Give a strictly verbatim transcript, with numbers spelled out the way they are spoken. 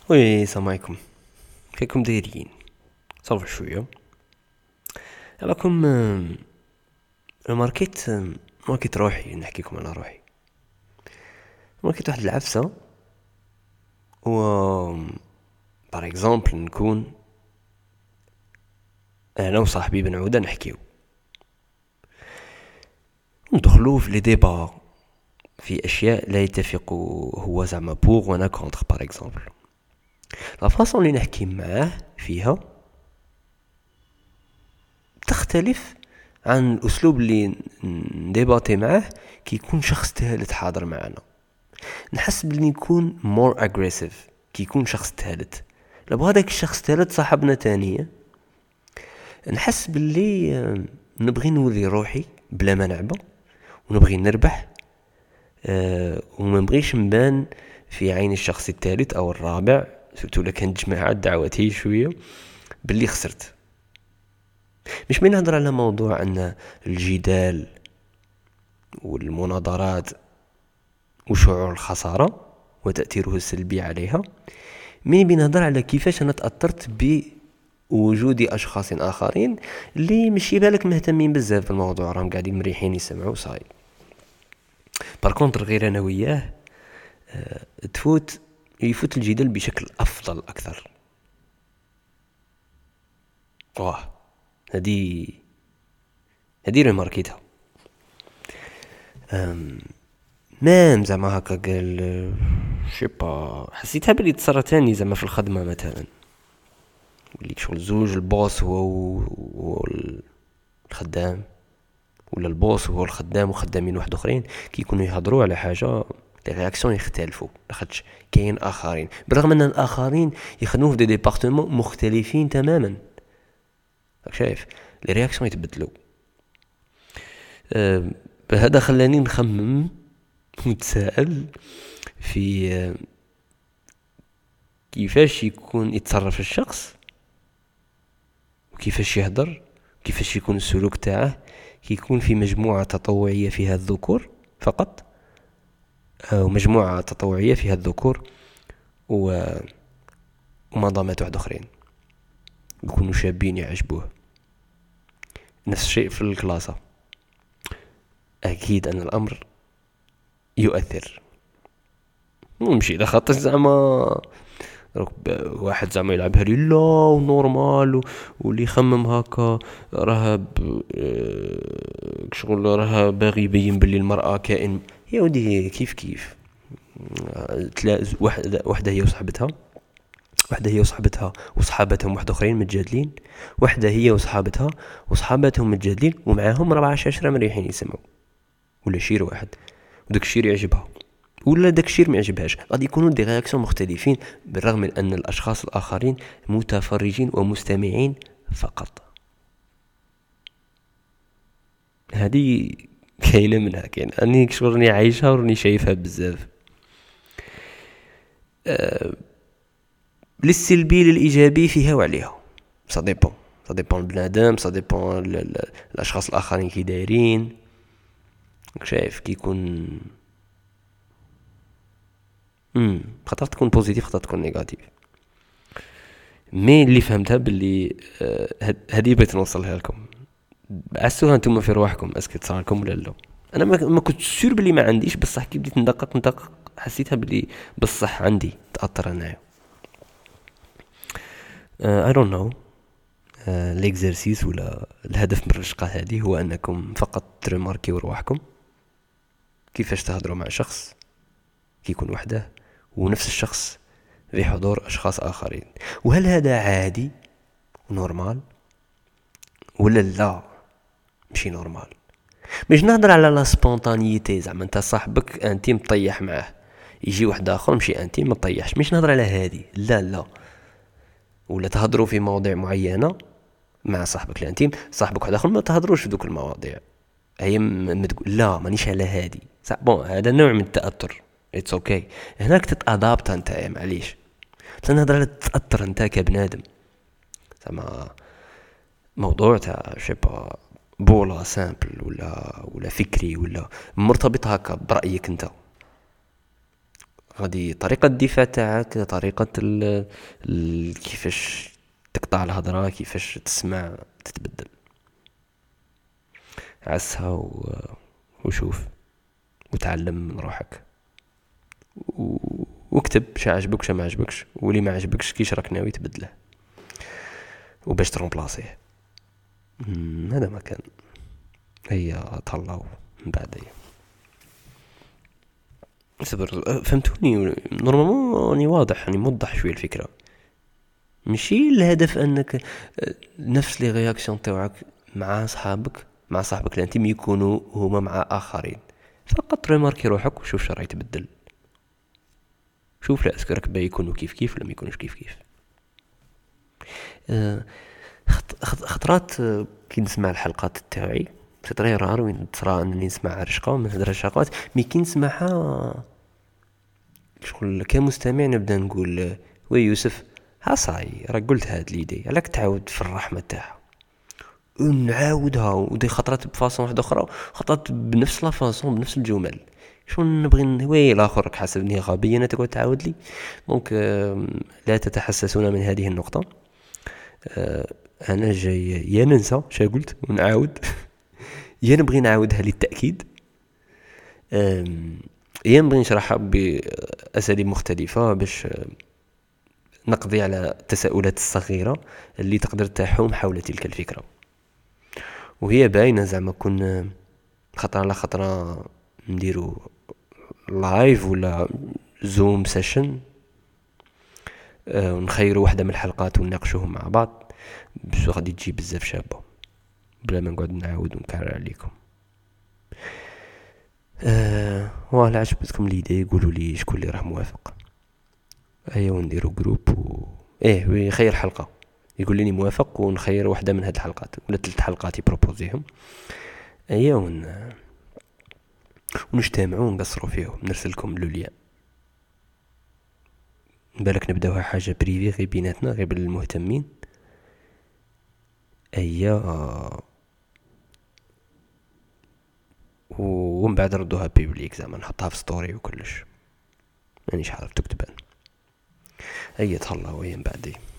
وي السلام عليكم. كيفكم دايرين؟ صافي شويه راكم. ماركيت ماركيت روحي نحكيكم على روحي. ماركيت واحد العفسه و بار اكزومبل نكون انا وصاحبي بن عوده نحكيو ندخلو في لي ديبا في اشياء لا يتفق هو زعما بوغ وانا كونتر. بار اكزومبل لا فاصون اللي نحكي معاه فيها تختلف عن الاسلوب اللي نديباتي معاه كي يكون شخص ثالث حاضر معنا. نحس بلي نكون مور اجريسيف كي يكون شخص ثالث. لو هذاك الشخص ثالث صاحبنا تانية نحس باللي نبغي نوري روحي بلا ما نعبا ونبغي نربح، أه وما نبغيش نبان في عين الشخص الثالث او الرابع سورتو الا كانت جماعه دعوات هي شويه باللي خسرت. مش من نهضر على موضوع ان الجدال والمناظرات وشعور الخساره وتاثيره السلبي عليها، مين بنهضر على كيفاش انا تاثرت بوجود اشخاص اخرين اللي مش بالك مهتمين بزاف بالموضوع، راهم قاعدين مريحين يسمعوا صاي. باركونتر غير انا وياه أه تفوت يفوت الجدال بشكل افضل اكثر. واه هذه هذه ريماركيتها. مام زعما هكا قال شيبا حسيتها بلي تصرا تاني زعما في الخدمه مثلا، اللي شغل زوج البوس هو هو الخدام ولا البوس هو الخدام وخدامين واحد اخرين كي يكونوا يهضروا على حاجه لي رياكسيون يختلفوا لاخاطش كاين اخرين بالرغم ان الاخرين يخدموا في دي ديبارتمون مختلفين تماما. راك شايف لي رياكسيون يتبدلوا. أه هذا خلاني نخمم ونتساءل في أه كيفاش يكون يتصرف الشخص وكيفاش يهدر كيفاش يكون السلوك تاعه كي يكون في مجموعة تطوعية فيها الذكور فقط، ومجموعة تطوعية فيها الذكور و ومنظمات واحد اخرين يكونوا شابين يعجبوه. نفس الشيء في الكلاسة، اكيد ان الامر يؤثر. مشي اذا خاطر زعما واحد زعما يلعبها لي لا ونورمال واللي يخمم هكا راه شغل راه باغي يبين باللي المرأة كائن. يا ودي كيف كيف تلاقي واحدة واحدة هي وصاحبتها واحدة هي وصاحبتها وصحابتهم واحد اخرين متجادلين، واحدة هي وصحابتها وصحابتهم متجادلين ومعاهم ربعة عشرة مريحين يسمعوا، ولا شير واحد وداك الشير يعجبها ولا داك الشيء ما يعجبهاش، غادي يكونوا دي رياكسيون مختلفين بالرغم من ان الاشخاص الاخرين متفرجين ومستمعين فقط. هذه كاينه منها كاين اني كشورني عايشها ورني شايفها بزاف. أه للسلبي للايجابي فيها وعليها، سا ديبون سا ديبون البنادم، سا ديبون الاشخاص الاخرين كي دايرين. شايف كي يكون امم خاطر تكون بوزيتيف خاطر تكون نيجاتيف. مي اللي فهمتها باللي هذه آه بغيت نوصلها لكم، عسوها انتم في رواحكم اسكي تصرا لكم ولا لا. انا ما, ما كنت سور باللي ما عنديش، بصح كي بديت ندقق ندقق حسيتها باللي بصح عندي تاثر انايا. اي دونت نو ليكزرسيس ولا الهدف من الرشقه هذه هو انكم فقط ترماركيو رواحكم كيفاش تهضروا مع شخص كي يكون وحده ونفس الشخص في حضور أشخاص آخرين، وهل هذا عادي نورمال ولا لا مشي نورمال. مش نهضر على لا سبونتانيتي زعما انت صاحبك انتي مطيح معه يجي واحد اخر مشي انتي ما طيحش، مش نهضر على هذه لا لا. ولا تهضروا في مواضيع معينه مع صاحبك الانتيم، صاحبك واحد اخر ما تهضروش في دوك المواضيع، هي ما تقول لا مانيش على هذه بون. هذا نوع من التاثر اتس اوكي okay. هناك تتادابت انت معليش تنهضر على تاثر انت كبنادم زعما موضوع تاع شيبا بولا سامبل ولا ولا فكري ولا مرتبط هكا برايك انت. غادي طريقة الدفاع تاعك، طريقة ال ال كيفاش تقطع الهضرة، كيفاش تسمع تتبدل. عسها و... وشوف وتعلم من روحك و... واكتب شا عجبك وشا ما عجبكش، واللي ما عجبكش كيش راك ناوي تبدله وباش ترومبلاسيه. هذا ما كان. هيا طلعوا من بعد. هي صبر، فهمتوني نورمالمون راني واضح، راني موضح شويه الفكره. ماشي الهدف انك نفس لي رياكسيون تاعك مع صحابك مع صاحبك الانتيم يكونوا هما مع اخرين. فقط ريماركي روحك وشوف شو راهي تبدل. شوف لا اسكو راك باغي يكونوا كيف كيف ولا ما يكونوش كيف كيف. أه خطرات كي نسمع الحلقات تاعي تطري رار وين ترى انني نسمع رشقه وما نهضرش رشقات، مي كي نسمعها شغل كمستمع نبدا نقول وي يوسف ها صاي راك قلت هاد ليدي، علاك تعاود في الرحمه تاعها ونعاودها ودي خطرات بفاصون واحده اخرى، خطرات بنفس لا فاصون بنفس الجمل. شو نبغي وي الاخر راك حاسبني غبي انا تقعد تعاود لي. دونك لا تتحسسون من هذه النقطه. انا جاي يا ننسى شا قلت ونعاود يا نبغي نعاودها للتاكيد، يا نبغي نشرحها باساليب مختلفه باش نقضي على التساؤلات الصغيره اللي تقدر تحوم حول تلك الفكره. وهي باينه زعما كون خطره على خطره نديرو لايف ولا زوم سيشن ونخيروا واحده من الحلقات ونناقشوهم مع بعض، باش غادي تجي بزاف شابه بلا ما نقعد نعاود ونكرر عليكم. أه والله عجبتكم ليدي قولوا لي شكون اللي راه موافق. ايا ونديروا جروب و... ايه ويخير حلقه يقول لي موافق ونخير واحده من هاد الحلقات ولا ثلاث حلقات يبروبوزيهم. ايا ون... ونجتمعوا ونقصروا فيهم نرسلكم لوليان. بالك نبداوها حاجه بريفي غير بيناتنا غير بالمهتمين. ايا ومن بعد ردوها بيبليك زعما نحطها في ستوري وكلش مانيش عارف تكتبان. ايا تهلاو وين بعدي.